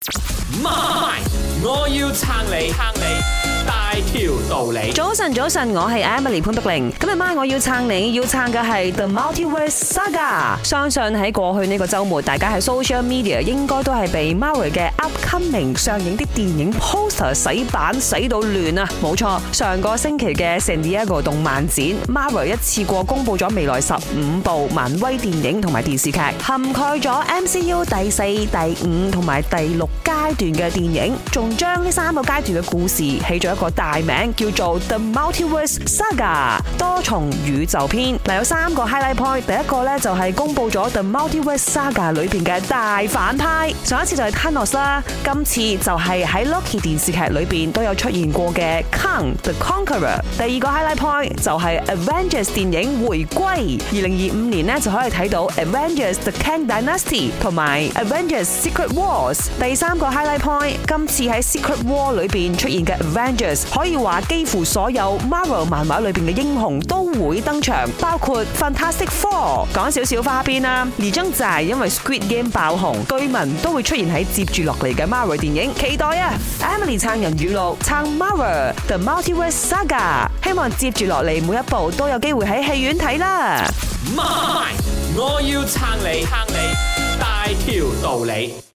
媽，我要撐你大條道理。 早晨，我係 Emily 潘碧玲。今日晚我要撐你，要撐嘅係 The Multiverse Saga。相信喺過去呢個週末，大家喺 social media 應該都係被 Marvel 嘅 upcoming 上映啲電影 poster 洗版洗到亂啊！冇錯，上個星期嘅 San Diego 動漫展 ，Marvel 一次過公佈咗未來15部漫威電影同埋電視劇，涵蓋咗 MCU 第4、第5同埋第6階段嘅電影，仲將呢3個階段嘅故事起咗一個大名，叫做 The Multiverse Saga 多重宇宙篇。嗱，有3個 highlight point， 第一個咧就係公佈咗 The Multiverse Saga 裏邊嘅大反派，上一次就係 Thanos 啦，今次就係喺 Loki 電視劇裏邊都有出現過嘅 Kang the Conqueror。第二個 highlight point 就係 Avengers 電影回歸，2025年咧就可以睇到 Avengers The Kang Dynasty 同埋 Avengers Secret Wars。第3個 highlight point， 今次喺 Secret War 裏邊出現嘅 Avengers， 可以話幾乎所有 Marvel 漫畫裏邊嘅英雄都會登場，包括 Fantastic Four。講少少花邊啦，而張就係因為 Squid Game 爆紅，據聞都會出現喺接住落嚟嘅 Marvel 電影，期待啊 ！Emily 撐人語錄，撐 Marvel The Multiverse Saga， 希望接住落嚟每一部都有機會喺戲院睇啦。 媽，我要撐你大條道理。